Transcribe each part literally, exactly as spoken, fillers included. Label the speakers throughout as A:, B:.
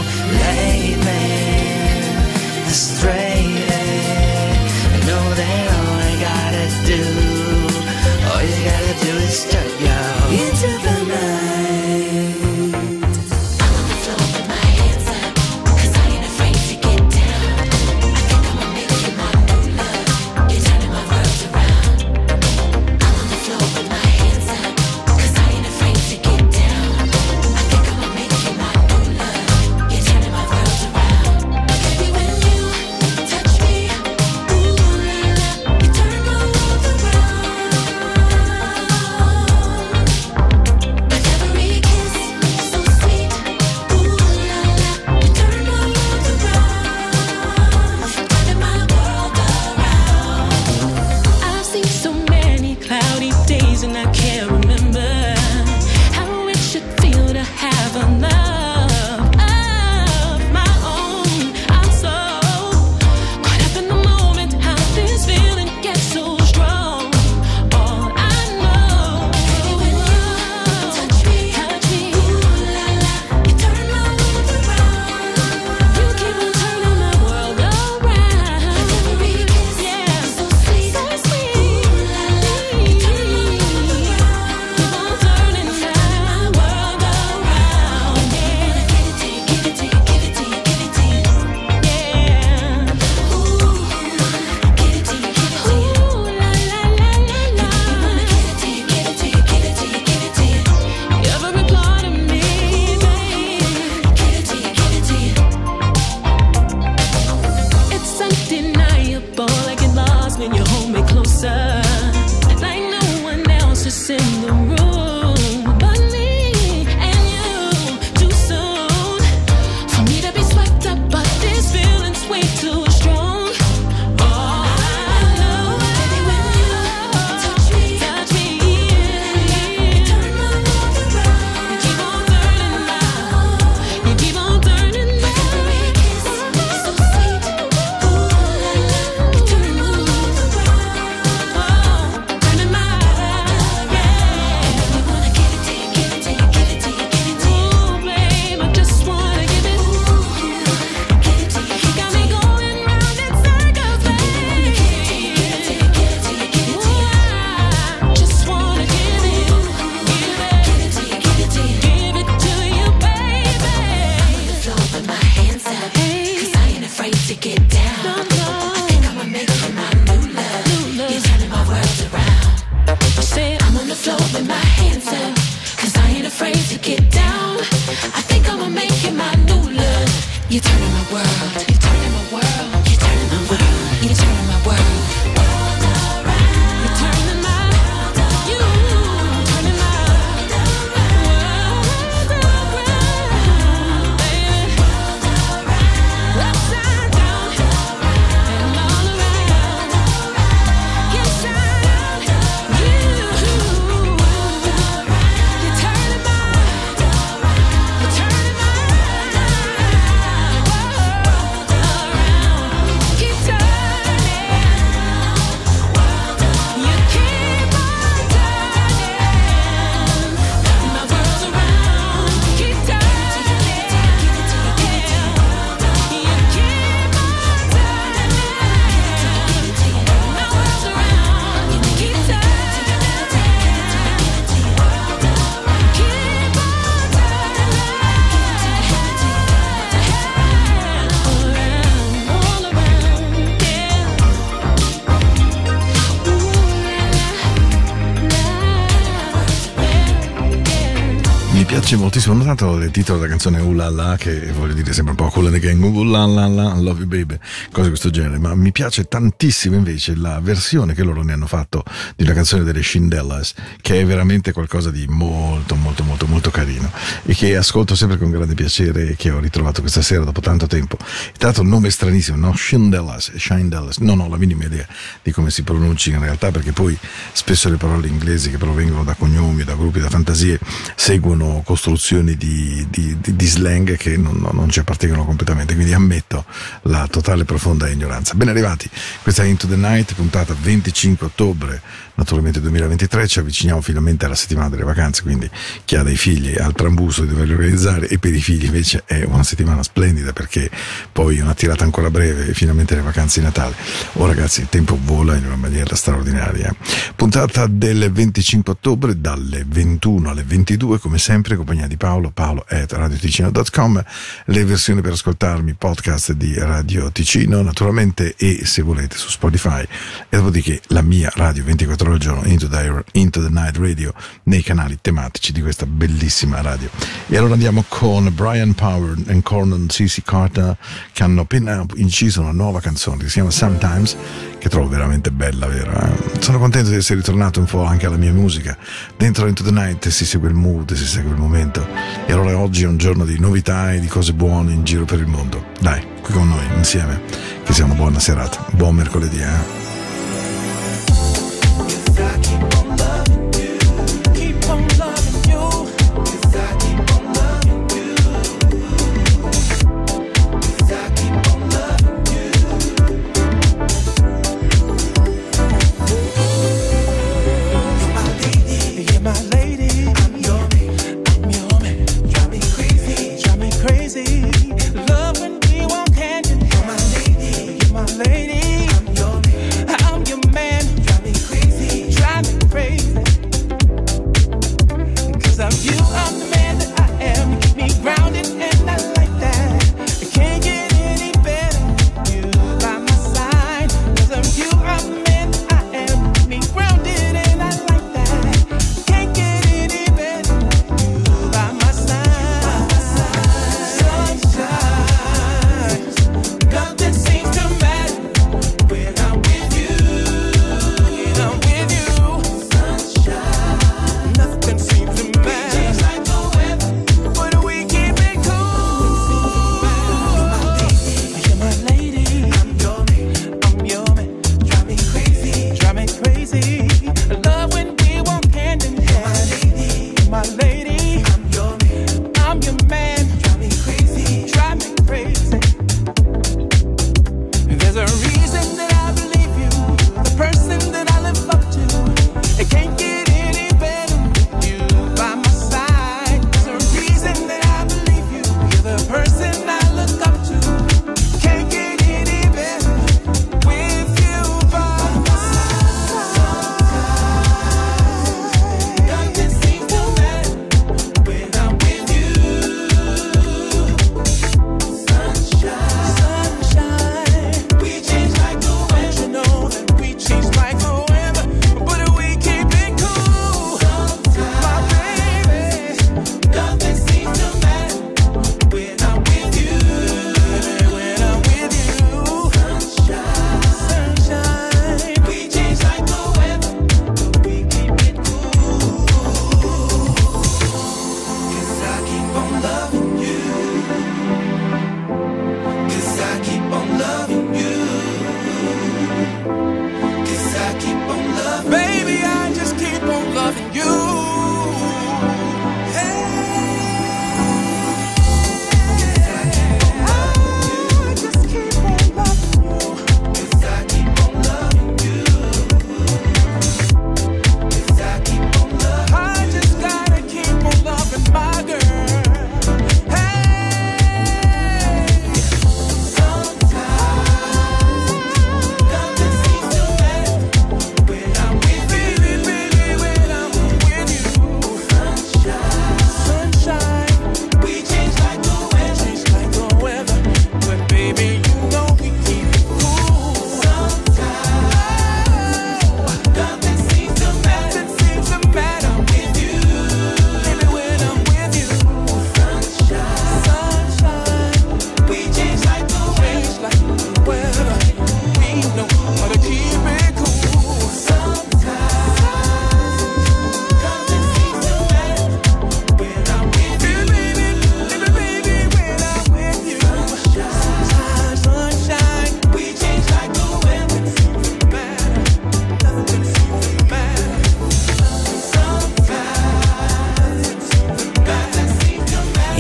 A: piace moltissimo, non tanto il titolo della canzone Uh La La, che voglio dire sempre un po' Kool and the Gang, Uh La La La, Love You Baby, cose di questo genere, ma mi piace tantissimo invece la versione che loro ne hanno fatto di una canzone delle Shindellas, che è veramente qualcosa di molto molto molto molto carino e che ascolto sempre con grande piacere e che ho ritrovato questa sera dopo tanto tempo. Tra l'altro il nome è stranissimo, no? Shindellas, Shindellas, non ho la minima idea di come si pronunci in realtà, perché poi spesso le parole inglesi che provengono da cognomi, da gruppi, da fantasie seguono sono costruzioni di, di, di, di slang che non, non ci appartengono completamente, quindi ammetto la totale profonda ignoranza. Ben arrivati, questa è Into the Night, puntata venticinque ottobre naturalmente duemilaventitré, ci avviciniamo finalmente alla settimana delle vacanze, quindi chi ha dei figli ha il trambusto di doverli organizzare, e per i figli invece è una settimana splendida perché poi una tirata ancora breve e finalmente le vacanze di Natale. Oh ragazzi, il tempo vola in una maniera straordinaria. Puntata del venticinque ottobre dalle ventuno alle ventidue, come sempre, in compagnia di Paolo, paolo at radioticino punto com, le versioni per ascoltarmi podcast di Radio Ticino naturalmente, e se volete su Spotify, e dopodiché la mia radio ventiquattro ore al giorno, Into the, Into the Night Radio, nei canali tematici di questa bellissima radio. E allora andiamo con Brian Power e Cornon C C Carter, che hanno appena inciso una nuova canzone che si chiama Sometimes, che trovo veramente bella, vero? Eh? Sono contento di essere ritornato un po' anche alla mia musica. Dentro Into the Night si segue il mood, si segue il momento, e allora oggi è un giorno di novità e di cose buone in giro per il mondo. Dai, qui con noi insieme, che sia una buona serata, buon mercoledì, eh?
B: Love when we walk hand in hand. You're my lady, I'm your man.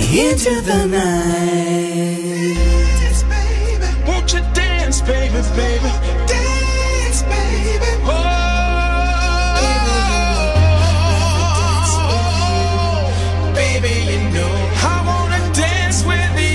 B: into the night. Dance, baby. Won't you dance, baby, baby? Dance, baby. Oh, baby, you know I wanna dance with you.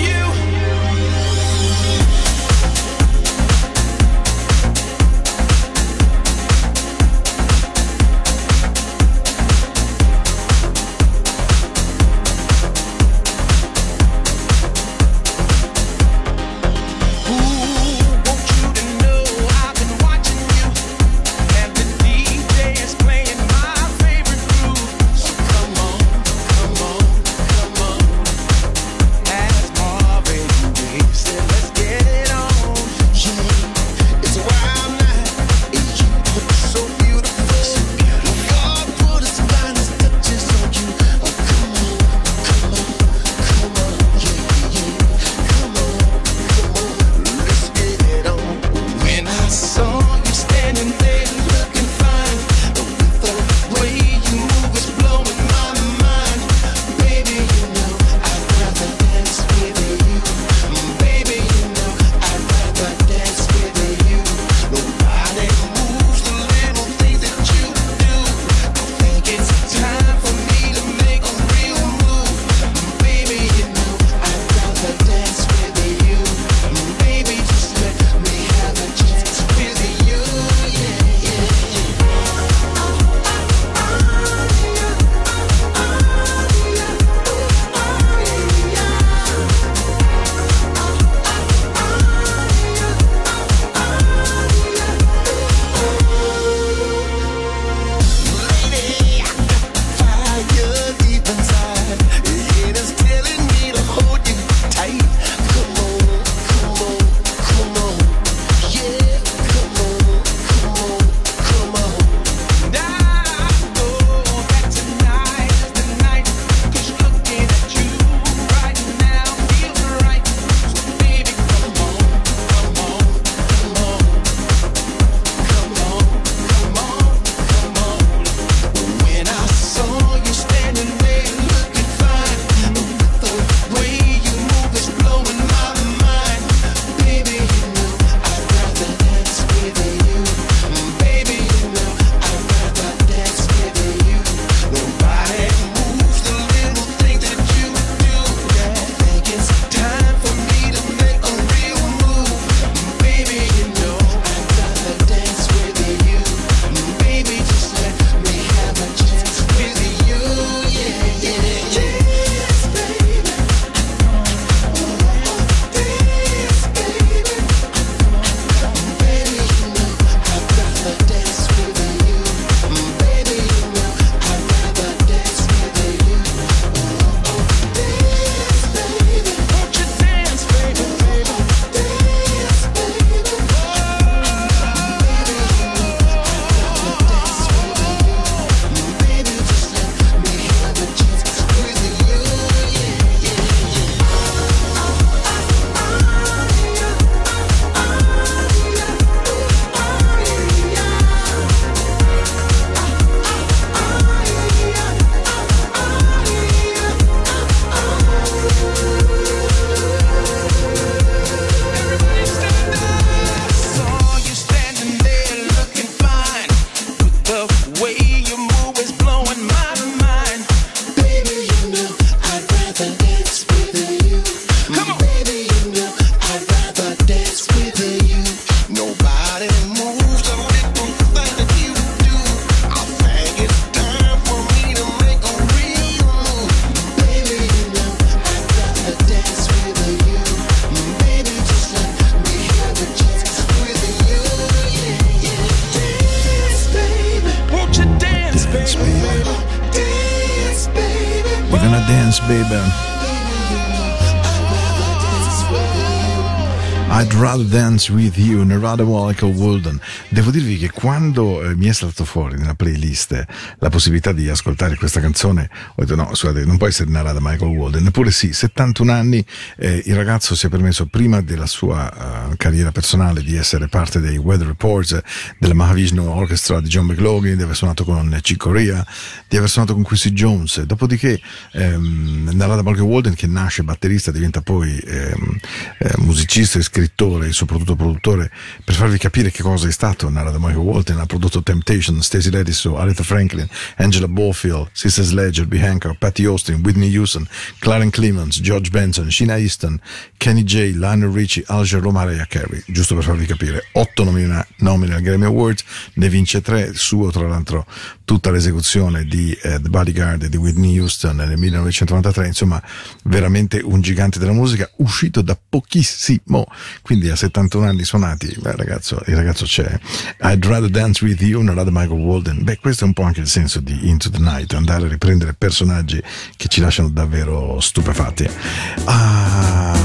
A: I'd rather dance with you, Narada Michael Walden. Devo dirvi che quando eh, mi è saltato fuori nella playlist la possibilità di ascoltare questa canzone, ho detto no, scusate, non può essere Narada Michael Walden. Eppure sì, settantuno anni, eh, il ragazzo si è permesso prima della sua uh, carriera personale di essere parte dei Weather Reports, della Mahavishnu Orchestra di John McLaughlin, di aver suonato con Chick Corea, di aver suonato con Quincy Jones. Dopodiché ehm, Narada Michael Walden, che nasce batterista, diventa poi ehm, eh, musicista e scrittore e soprattutto produttore. Per farvi capire che cosa è stato Narada Michael Walden, ha prodotto Temptation, Stacey Ladiso, Aretha Franklin, Angela Bofill, Sister Sledge, Herbie Hancock, Patty Austin, Whitney Houston, Clarence Clemons, George Benson, Sheena Easton, Kenny J, Lionel Richie, Al Jarreau, Mariah Carey. Giusto per farvi capire, otto nomina, nomine al Grammy Awards, ne vince tre, suo tra l'altro tutta l'esecuzione di eh, The Bodyguard di Whitney Houston nel millenovecentonovantatré. Insomma, veramente un gigante della musica, uscito da pochissimo, quindi a settantuno anni suonati. Beh, ragazzo, il ragazzo c'è. I'd rather dance with you, Narada Michael Walden. Beh, questo è un po' anche il senso di Into the Night, andare a riprendere personaggi che ci lasciano davvero stupefatti. Ah,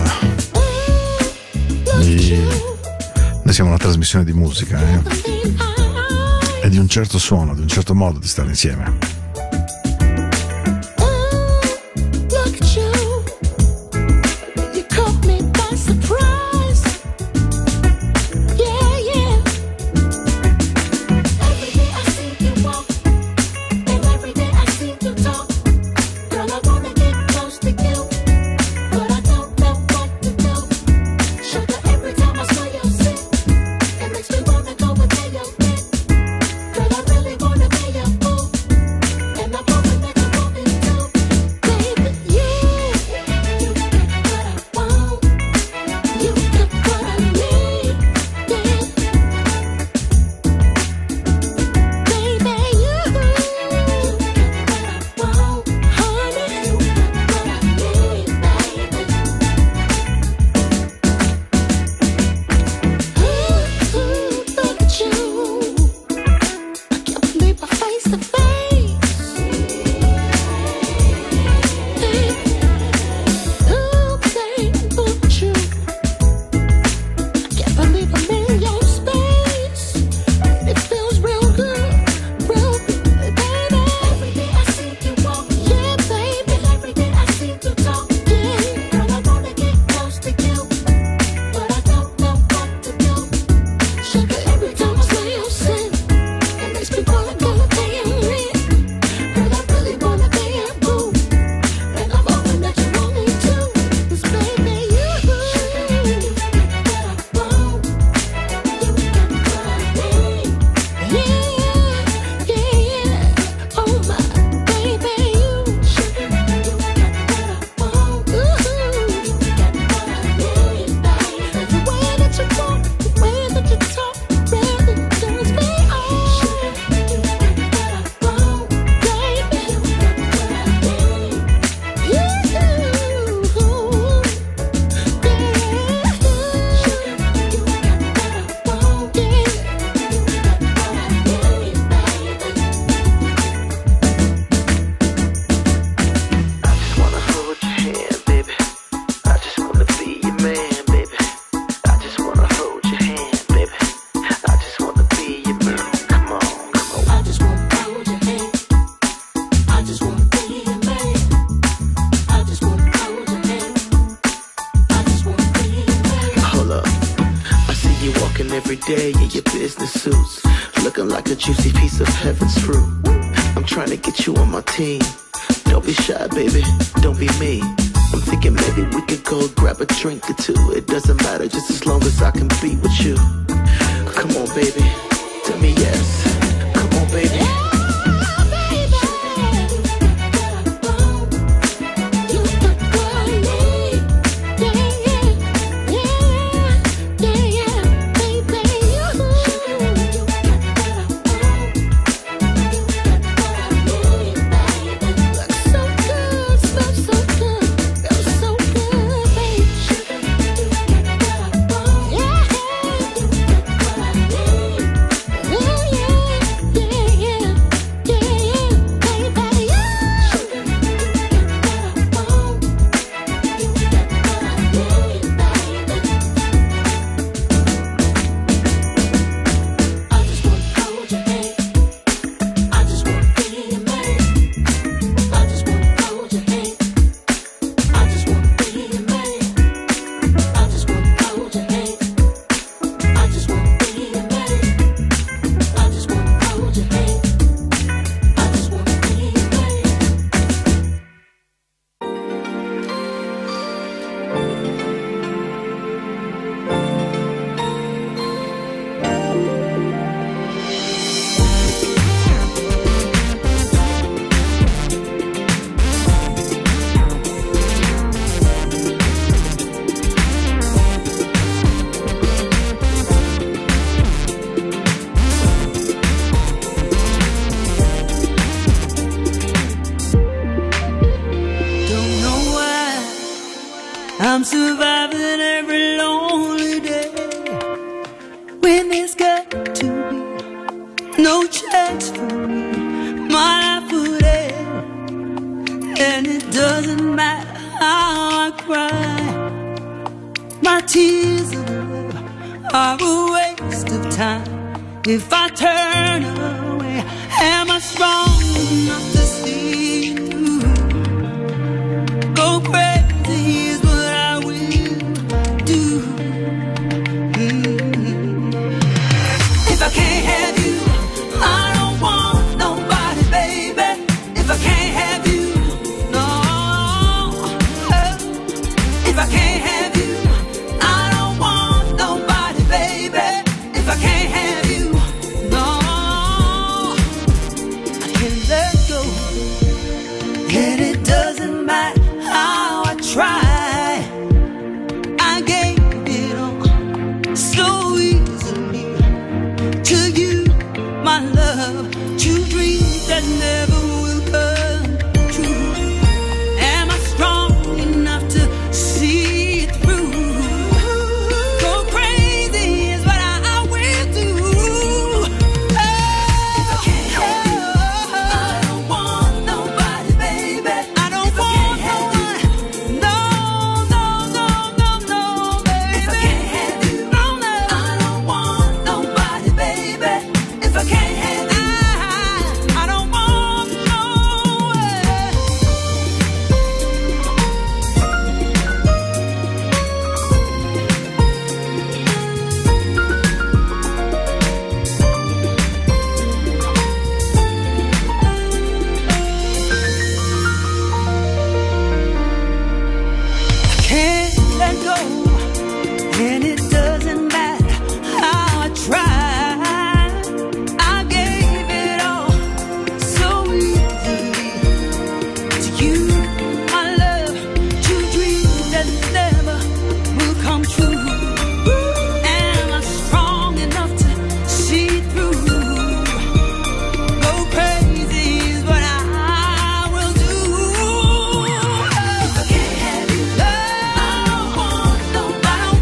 A: e... noi siamo una trasmissione di musica, eh? E di un certo suono, di un certo modo di stare insieme.
C: Day in your business suits, looking like a juicy piece of heaven's fruit. I'm trying to get you on my team. Don't be shy, baby, don't be me. I'm thinking maybe we could go grab a drink or two. It doesn't matter, just as long as I can be with you. Come on, baby, tell me yes. Come on, baby.
D: Yeah.
B: I'm surviving every lonely day when there's got to be no chance for me. My life would end, and it doesn't matter how I cry. My tears of love are a waste of time if I turn away. Am I strong enough to see you? Go crazy is what I will do. Mm-hmm. If I can't have you, I don't want nobody, baby. If I can't have you, no. If I can't have you, I don't want nobody, baby. If I can't have you, no. I can't let go, and it doesn't matter how I try. I gave it all so easily to you, my love, to dreams that never will come true. Am I strong enough to see it through? Go crazy is what I, I will do. Oh, if I can't have you, I don't want nobody, baby. I don't if want no one. No, no, no, no, no, baby. If I can't have you, no, no. I don't want nobody, baby. If I can't have you, I, I don't want no one. Can't let go, and it doesn't matter how I try. I gave it all so easily to you, my love, to dreams that never will come true. Am I strong enough to see through? Go crazy is what I will do. If I can't have you, I don't want nobody,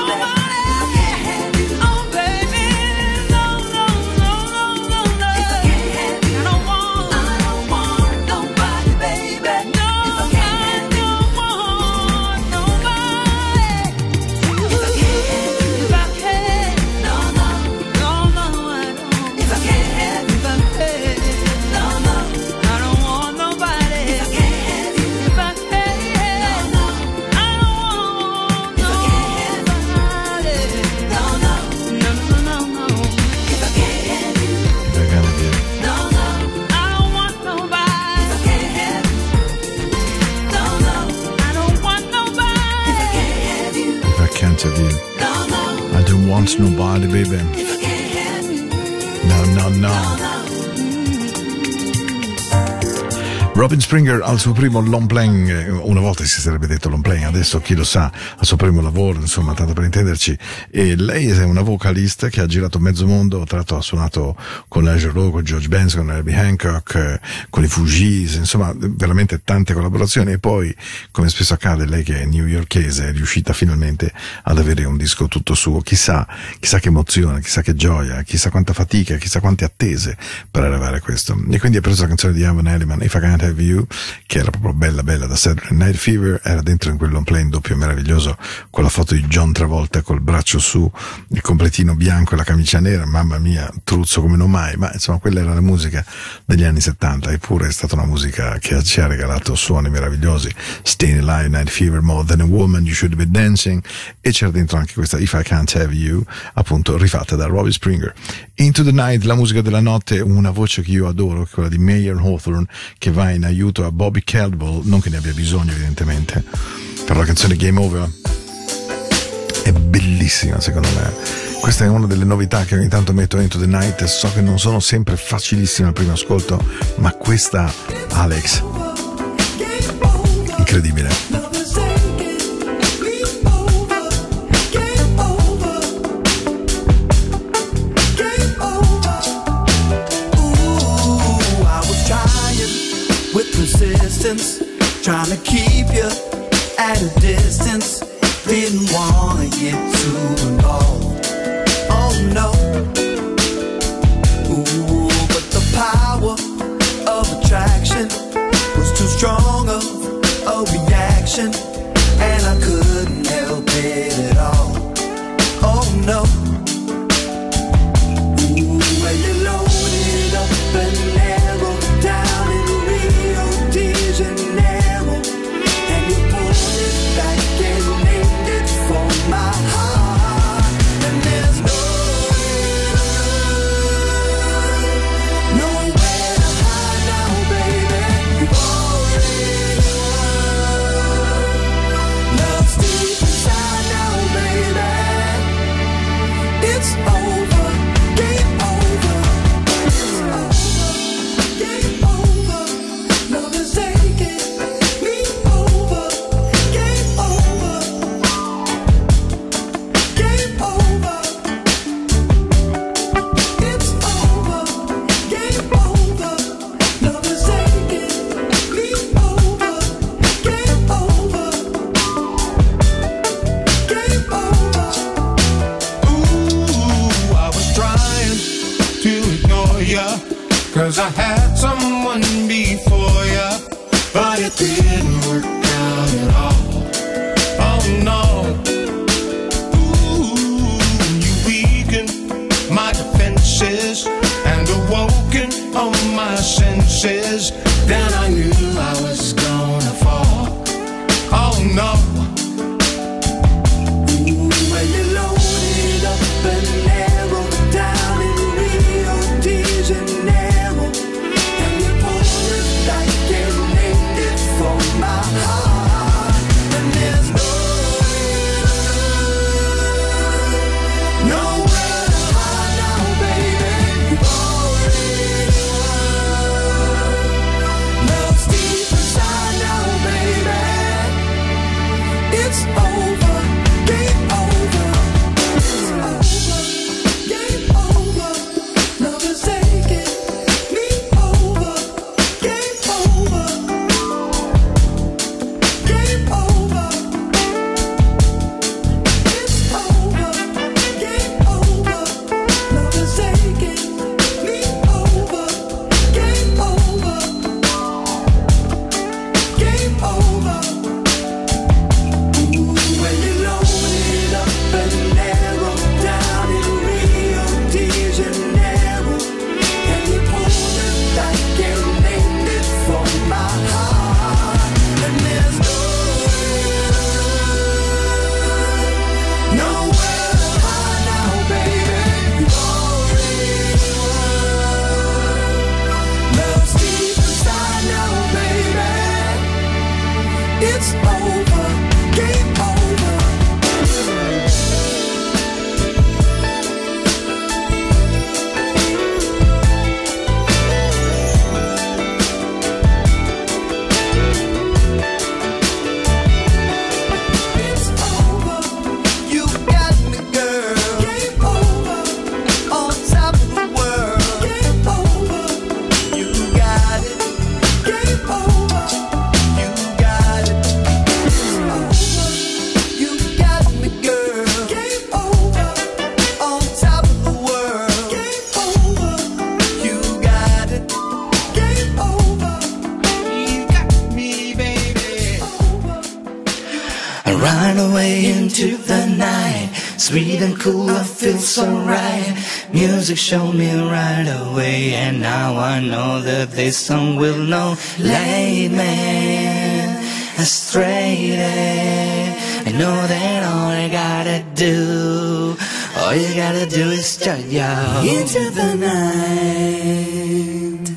B: baby. Oh, baby, no, no, no, no, no, no. If I can't have you, I don't want, I don't want nobody, baby. No, I don't want nobody. If I can't have you, if I can't, no, no, no, no, I don't. If I can't have you, if I can't, no, no, I don't want nobody. If I can't have you, if I can't, no, no, I don't want nobody. No, no, no, no, no, no. If I can't have you,
A: If I can't have you.
B: no, no, I don't want nobody. If I can't have you, no, no, I don't want nobody. If I can't have you,
A: If I can't have you,
B: no, no,
A: I don't want nobody, baby.
B: if I can't have you,
A: No, no, no.
B: no, no.
A: Robin Springer al suo primo long playing, eh, una volta si sarebbe detto long playing, adesso chi lo sa, al suo primo lavoro, insomma, tanto per intenderci. E lei è una vocalista che ha girato mezzo mondo, tra l'altro ha suonato con Leisure Low, con George Benson, con Herbie Hancock, eh, con i Fugees, insomma, veramente tante collaborazioni. E poi, come spesso accade, lei che è newyorkese è riuscita finalmente ad avere un disco tutto suo. Chissà, chissà che emozione, chissà che gioia, chissà quanta fatica, chissà quante attese per arrivare a questo. E quindi ha preso la canzone di Evan Elliman, If I Can't Have You, che era proprio bella bella da Saturday Night Fever, era dentro in quel long play doppio meraviglioso con la foto di John Travolta col braccio su, il completino bianco e la camicia nera, mamma mia, truzzo come non mai, ma insomma quella era la musica degli anni settanta, eppure è stata una musica che ci ha regalato suoni meravigliosi. Staying Alive, Night Fever, More Than a Woman, You Should Be Dancing, e c'era dentro anche questa If I Can't Have You, appunto rifatta da Robin Springer. Into the Night, la musica della notte, una voce che io adoro, che è quella di Mayer Hawthorne, che va in aiuto a Bobby Caldwell, non che ne abbia bisogno evidentemente, però la canzone Game Over è bellissima secondo me. Questa è una delle novità che ogni tanto metto Into the Night, so che non sono sempre facilissime al primo ascolto, ma questa, Alex, incredibile.
B: Persistence, trying to keep you at a distance. know. Ooh, when you load it up and narrow down in Rio de Janeiro, and you pull it back and named it for my heart, and there's no nowhere to hide now, baby. You've already won. Love's deep inside now, baby. It's over, game over. It's over, game over. Love is taking me over. Game over, game over. It's over, game over. Love is taking me over. Game over, game over.
D: Ooh, I was trying to ignore ya, cause I had someone before ya, but it didn't work out at all. Oh no. Ooh, you weakened my defenses and awoken all my senses. Then I knew I was gonna fall. Oh no.
B: When you load it up and narrow down in Rio de Janeiro, and you pull it back and named it for my heart, and there's no nowhere to hide now, baby. You've already won. Love's deep inside now, baby. It's over, game over. It's over, game over. Love is taking me over. Game over, game over. It's over, game over. Love is taking me over. Game over, game over. When you load it up and narrow down in Rio de Janeiro, and you pull it back and named it for my heart, and there's no nowhere to hide now, baby. You've already won. Love's deep inside now, baby. It's over, game over. It's over, you got me, girl. Game over, on top of the world. Game over, you got it. Game over, you got it. It's over, you got me, girl. Game over, on top of the world. Game over, you got it. Game over, you got me, baby. Over.
E: I run away into the night, sweet and cool, I feel so right. Music showed me right away, and now I know that this song will know. Late man, astray. I know that all I gotta do, all you gotta do is jump yo into the night.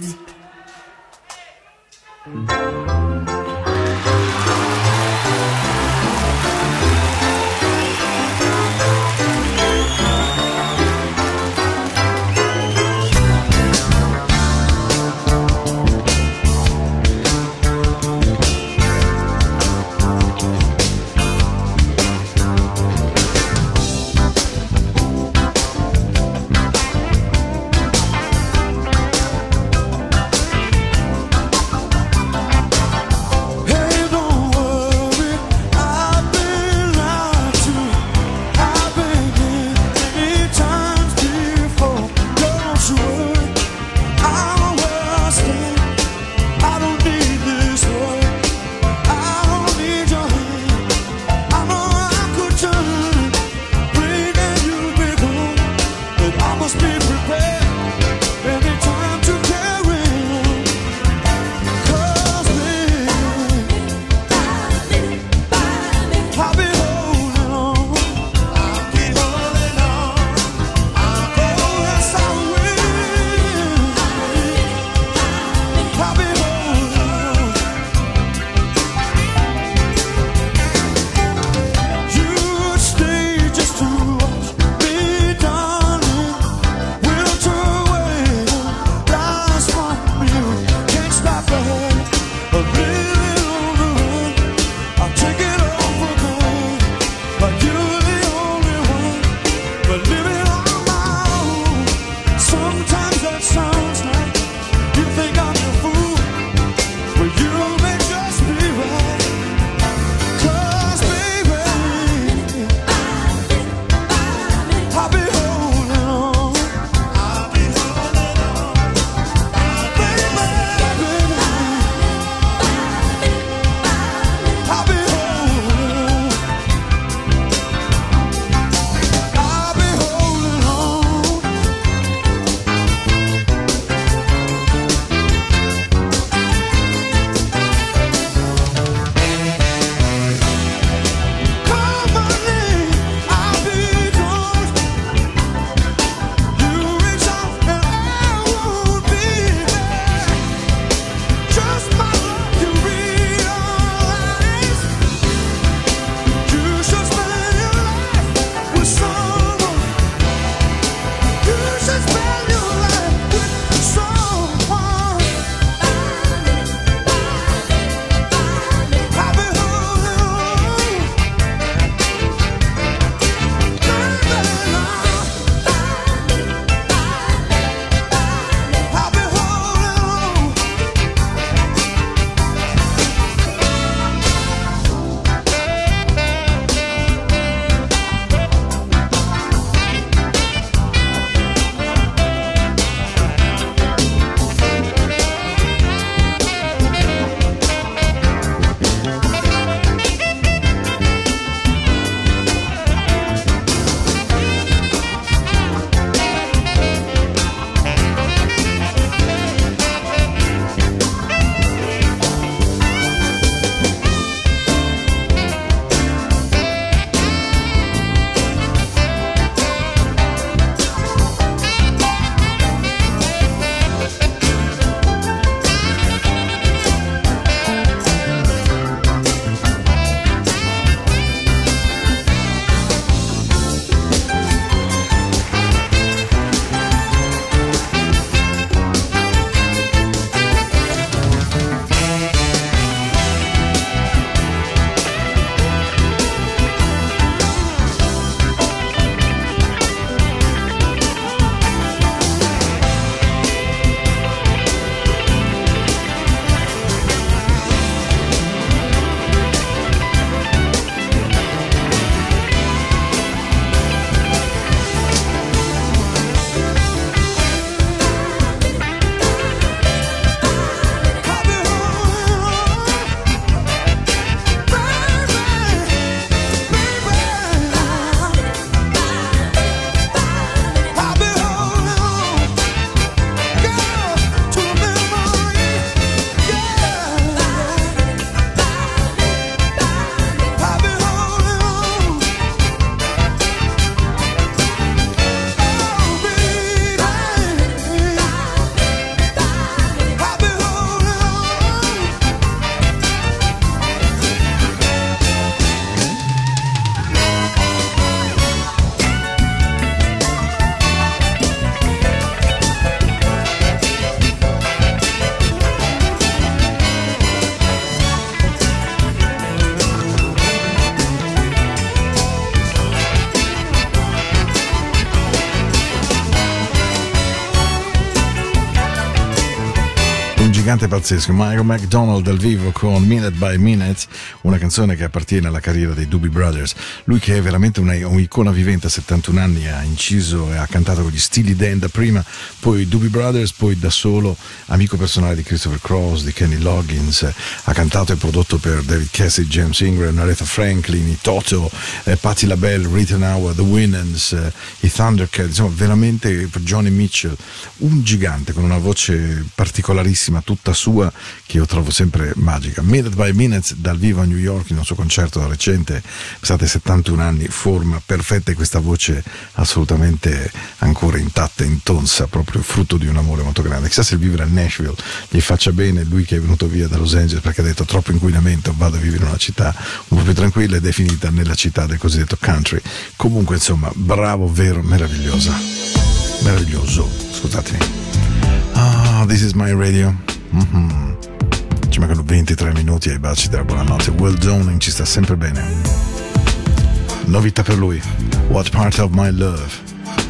A: gigante pazzesco, Michael McDonald dal vivo con Minute by Minute, una canzone che appartiene alla carriera dei Doobie Brothers. Lui che è veramente una, un'icona vivente, a settantuno anni, ha inciso e ha cantato con gli Steely Dan da prima, poi i Doobie Brothers, poi da solo, amico personale di Christopher Cross, di Kenny Loggins, ha cantato e prodotto per David Cassidy, James Ingram, Aretha Franklin, i Toto, eh, Patti LaBelle, Rita Ora, The Winans, eh, i Thundercats, insomma veramente per Johnny Mitchell, un gigante con una voce particolarissima, tutta sua, che io trovo sempre magica. Minute by Minute dal vivo a New York in un suo concerto recente, state settantuno anni, forma perfetta, e questa voce assolutamente ancora intatta, intonsa, proprio frutto di un amore molto grande. Chissà se il vivere a Nashville gli faccia bene, lui che è venuto via da Los Angeles perché ha detto troppo inquinamento, vado a vivere in una città un po' più tranquilla, ed è finita nella città del cosiddetto country. Comunque insomma, bravo, vero, meravigliosa, meraviglioso, scusatemi. Ah, This Is My Radio. Mm-hmm. Ci mancano ventitré minuti ai baci della buonanotte. Will Downing ci sta sempre bene. Novità per lui, What Part of My Love.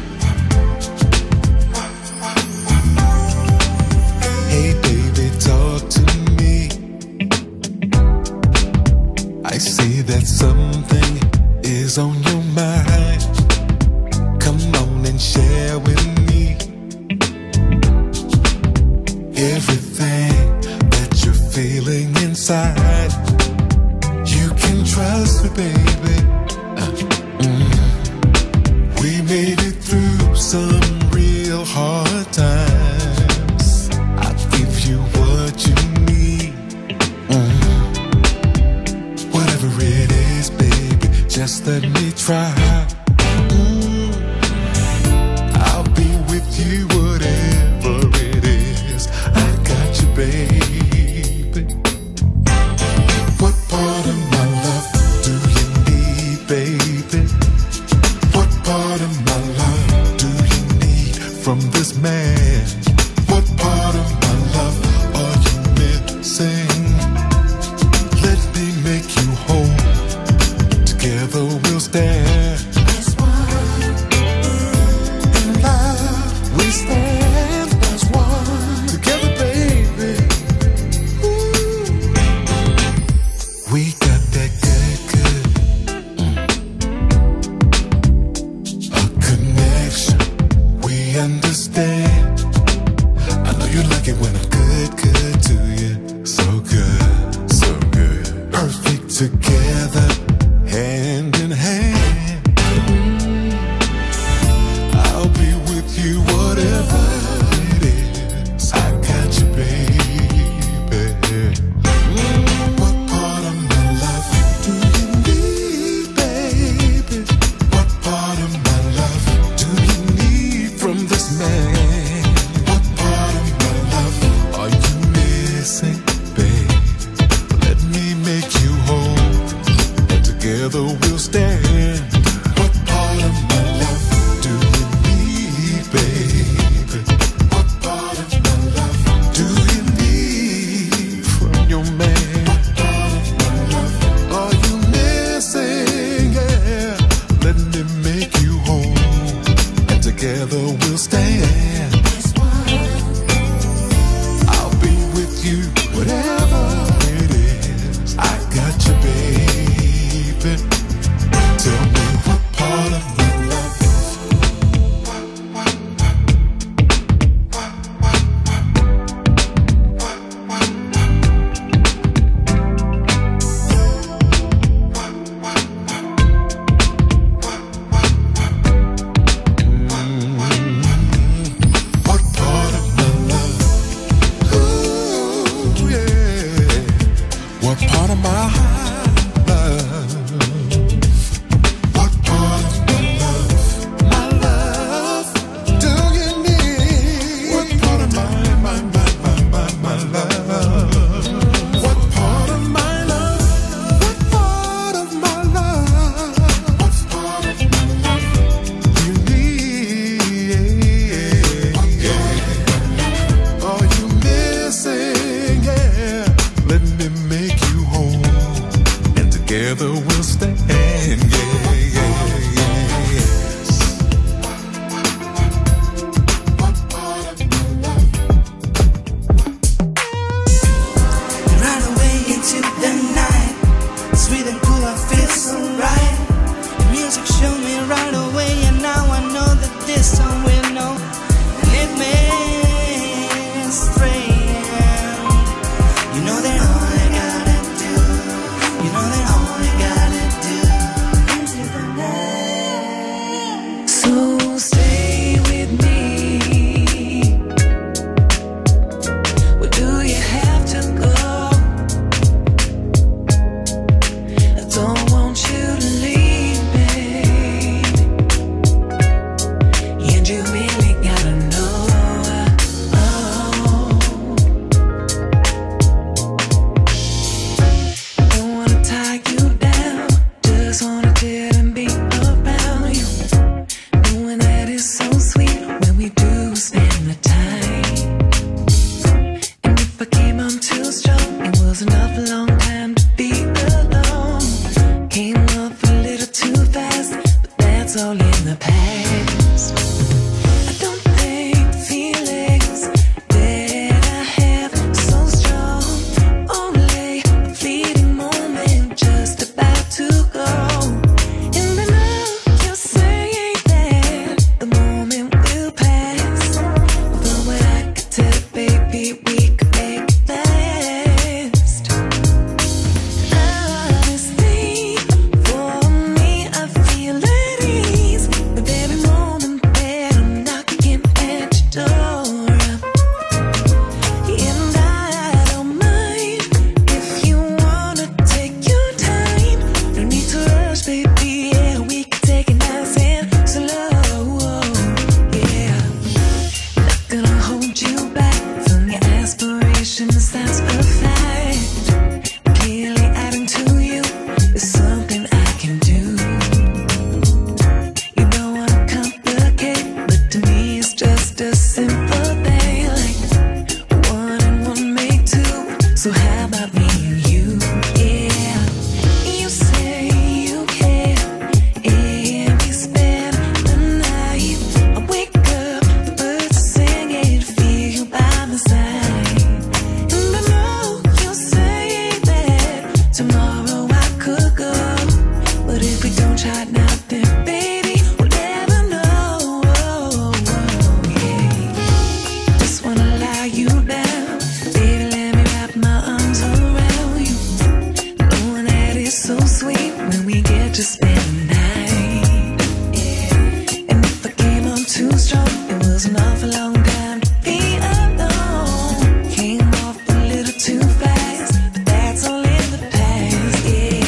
F: Hey baby, talk to me. I see that something is on your mind. Come on and share with me everything that you're feeling inside. You can trust me, baby. Uh, mm. We made it through some real hard times. I'll give you what you need. Mm. Whatever it is, baby, just let me try. Mm. I'll be with you, whatever it is. I got you, baby. What part of my love do you need, baby? What part of my love do you need from this man? What part of my love are you missing? Let me make you whole. Together we'll stand. As one in love, we stand as one. Together, baby. Ooh. We got that good, good. Mm. A connection. We understand. I know you like it when I'm good, good to you. So good, so good. Perfect together, hand in hand. I'll be with you, whatever it is. I got you, baby. Mm, what part of my love do you need, baby? What part of my love do you need from this man? What part of my love are you missing, babe? Let me make you whole, and together we'll stand. What part of my love do you need, baby? What part of my love do you need from your man? What part of my love are you missing? Yeah, let me make you whole, and together we'll stand. I'll be with you, whatever it is. I got you, baby. Tell me what part of my love. What part of my love? Ooh, yeah. What part of my love? What part of my love? My love, do you need? What part of my, my, my, my, my, my love? What part of my love? What part of my love? What part of my love you need? Are you missing? Yeah, let me make you whole, and together we'll stand. Yeah, yeah, yeah, yes. What part of my love?
G: try nothing, baby. We'll never know. Yeah. Just wanna lie you down, baby. Let me wrap my arms around you. Knowing that it's so sweet when we get to spend the night. Yeah. And if I came on too strong, it was an awful long time to be alone. Came off a little too fast, but that's all in the past. Yeah.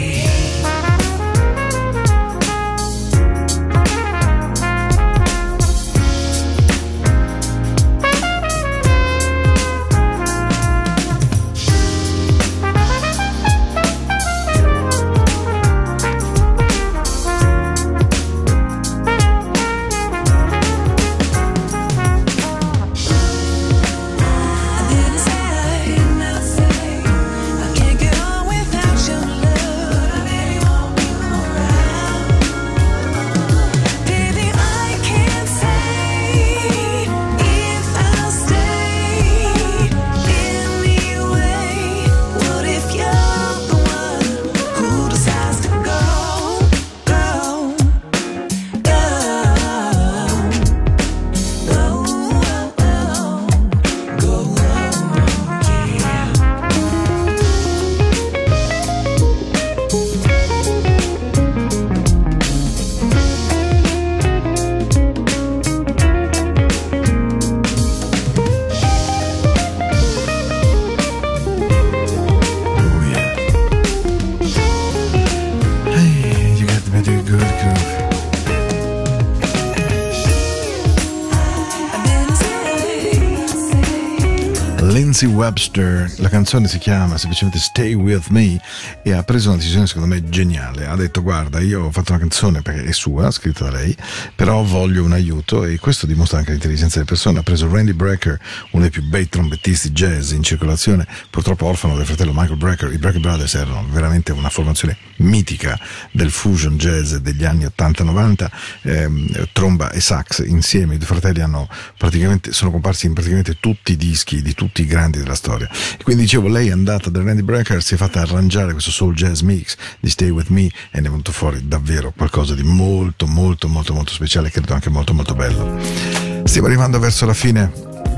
A: Lindsay Webster, la canzone si chiama semplicemente Stay With Me e ha preso una decisione secondo me geniale. Ha detto: guarda, io ho fatto una canzone perché è sua, scritta da lei, però voglio un aiuto, e questo dimostra anche l'intelligenza delle persone. Ha preso Randy Brecker, uno dei più bei trombettisti jazz in circolazione, purtroppo orfano del fratello Michael Brecker. I Brecker Brothers erano veramente una formazione mitica del fusion jazz degli anni ottanta novanta, ehm, tromba e sax insieme. I due fratelli hanno praticamente sono comparsi in praticamente tutti i dischi di tutti i grandi della storia, e quindi dicevo, lei è andata da Randy Brecker, si è fatta arrangiare questo soul jazz mix di Stay With Me e ne è venuto fuori davvero qualcosa di molto molto molto molto speciale, credo anche molto molto bello. Stiamo arrivando verso la fine.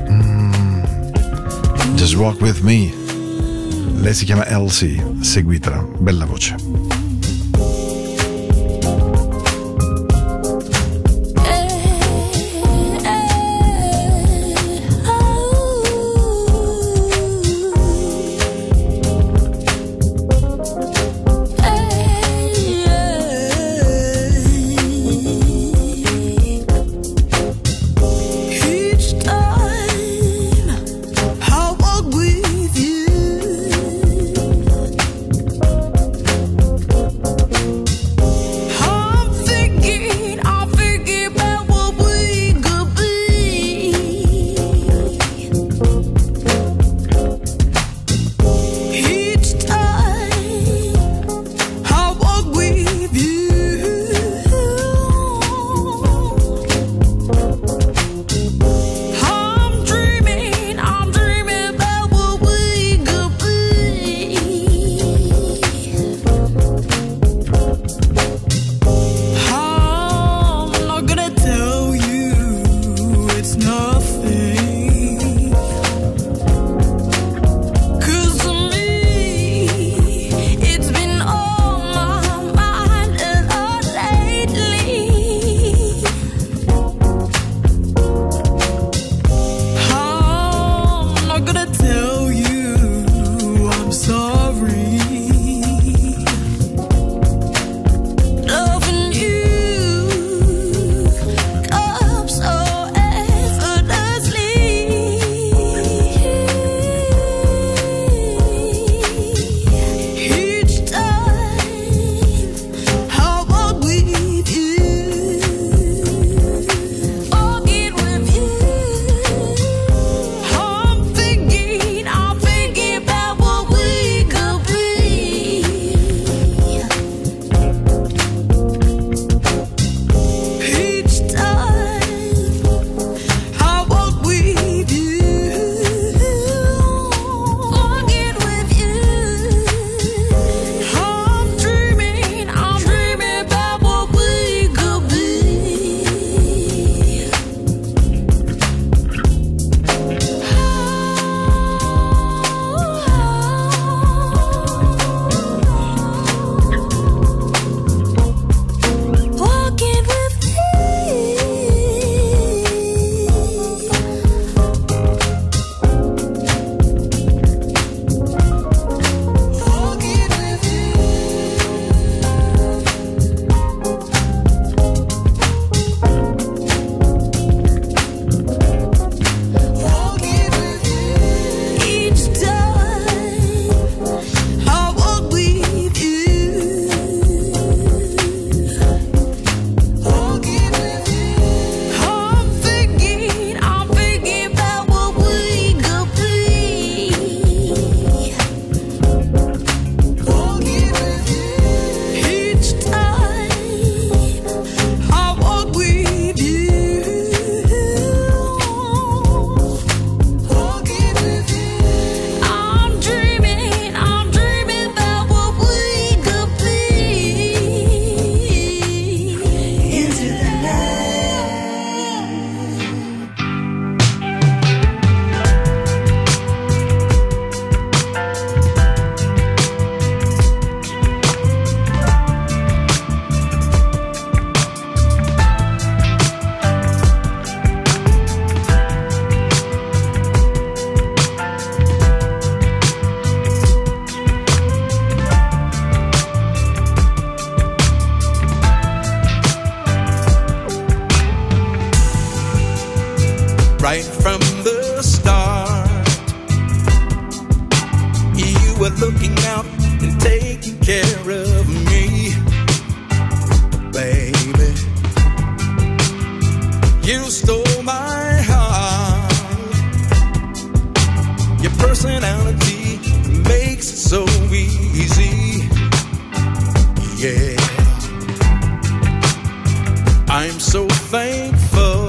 A: mm, Just Walk With Me, lei si chiama Elsie, seguitela, bella voce.
B: I walk with you.
H: right from the start. You were looking out and taking care of me, baby. You stole my heart. Your personality makes it so easy. Yeah, I'm so thankful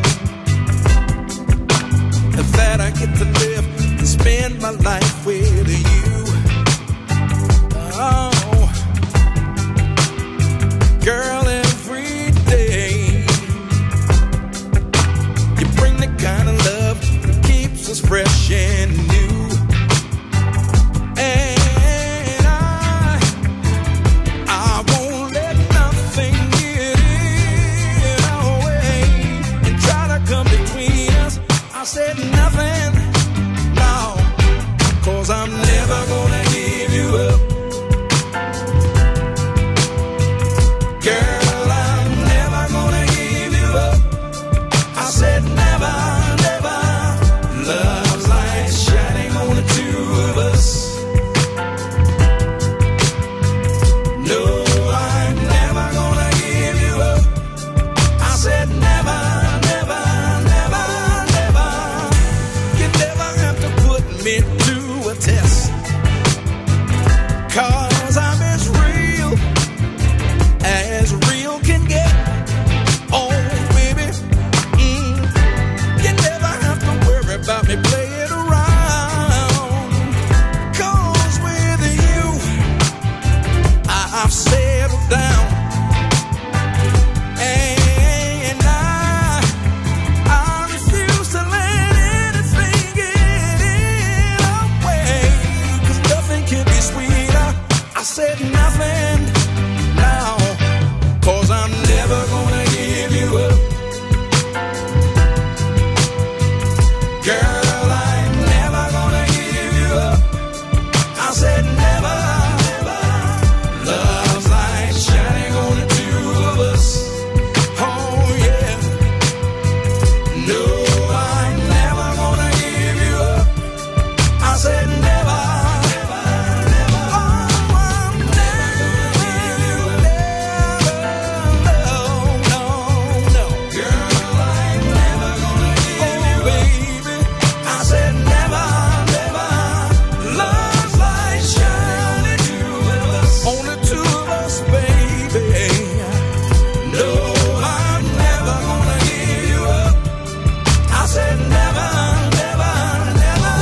H: that I get to live and spend my life with you. Oh, girl, every day you bring the kind of love that keeps us fresh and new. And I, I won't let nothing get in our way and try to come between us. I said nothing, no, 'cause I'm never gonna give you up. Girl, I'm never gonna give you up. I said never, never. Love's light shining on the two of us. No, I'm never gonna give you up. I said never, never, never, never. You never have to put me to a test, 'cause I'm as real as real can get. Oh, baby, mm. You never have to worry about me playing around, 'cause with you I've settled down. And I, I refuse to let anything get in our way, 'cause nothing can be sweeter. I said nothing now, 'cause I'm never gonna give you up. Girl, I'm never gonna give you up. I said never, never. Love's light shining on the two of us. Oh yeah. No, I'm never gonna give you up. I said never, never, never. Oh, I'm never gonna give you up. Never, no, no, no. Girl, I'm never gonna give you up. Baby, I said never, never. Love's light shining on the two of us, baby. No, I'm never gonna give you up. I said never, never, never,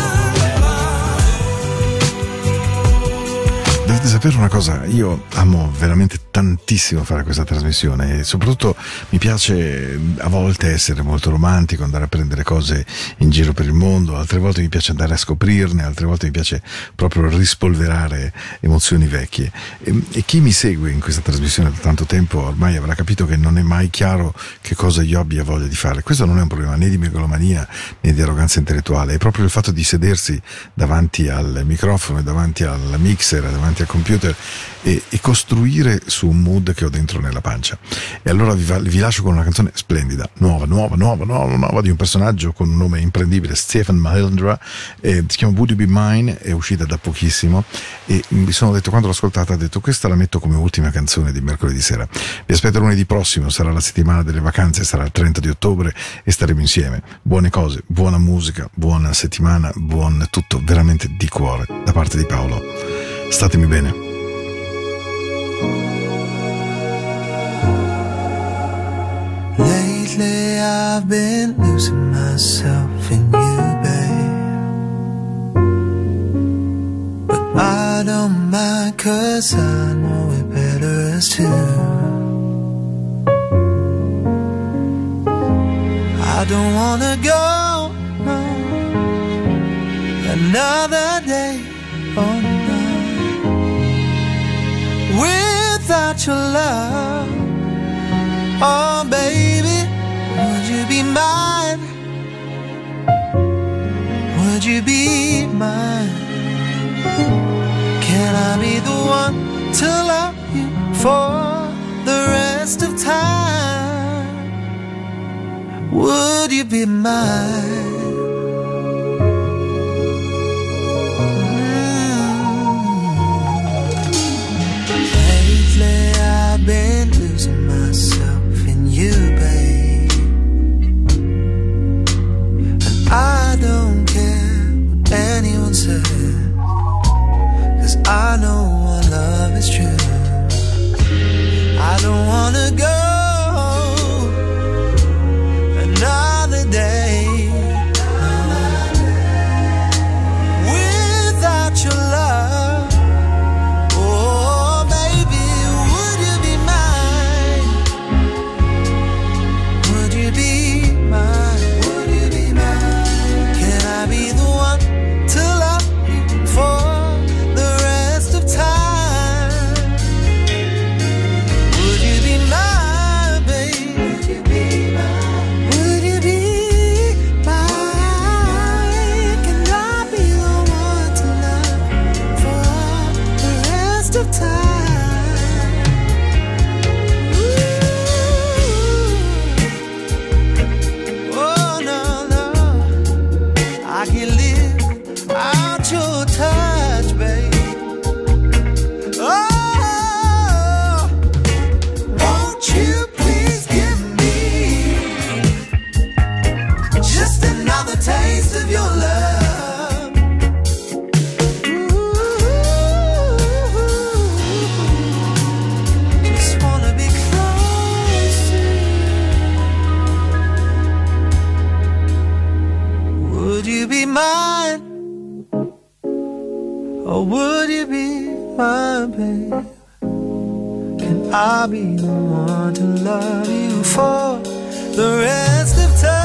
H: never.
A: Dovete sapere una cosa, io amo veramente tantissimo fare questa trasmissione e soprattutto mi piace a volte essere molto romantico, andare a prendere cose in giro per il mondo, altre volte mi piace andare a scoprirne, altre volte mi piace proprio rispolverare emozioni vecchie. E, e chi mi segue in questa trasmissione da tanto tempo ormai avrà capito che non è mai chiaro che cosa io abbia voglia di fare. Questo non è un problema né di megalomania né di arroganza intellettuale, è proprio il fatto di sedersi davanti al microfono e davanti al mixer, davanti al computer e, e costruire su un mood che ho dentro nella pancia. E allora vi, va, vi lascio con una canzone splendida, nuova, nuova, nuova, nuova, nuova, di un personaggio con un nome imprendibile, Stephen Mahindra, eh, si chiama Would You Be Mine, è uscita da pochissimo e mi sono detto, quando l'ho ascoltata, ho detto questa la metto come ultima canzone di mercoledì sera. Vi aspetto lunedì prossimo, sarà la settimana delle vacanze, sarà il trenta di ottobre e staremo insieme. Buone cose, buona musica, buona settimana, buon tutto, veramente di cuore, da parte di Paolo. Statemi bene.
B: Lately I've been losing myself in you, babe, but I don't mind, 'cause I know it better as two. I don't wanna go no, another day or night without your love. Oh baby, would you be mine? Would you be mine? Can I be the one to love you for the rest of time? Would
I: would you be mine? Lately I've been losing myself in you, babe, and I don't care what anyone says, 'cause I know our love is true. I don't wanna go another day without your love. Oh, baby, would you be mine? Would you be mine? Would you be mine? Can I be the one to love you for the rest of time? Would you be mine, babe? Would you be mine? Would you be mine? Can I be the one to love for the rest of time? Ooh. Oh, no, no, I can't live without your touch, babe. Oh, won't you please give me just another taste of your love? Ooh, just wanna be close to you. Would you be mine? Or would you be my babe? Can I be the one to love you for the rest of time?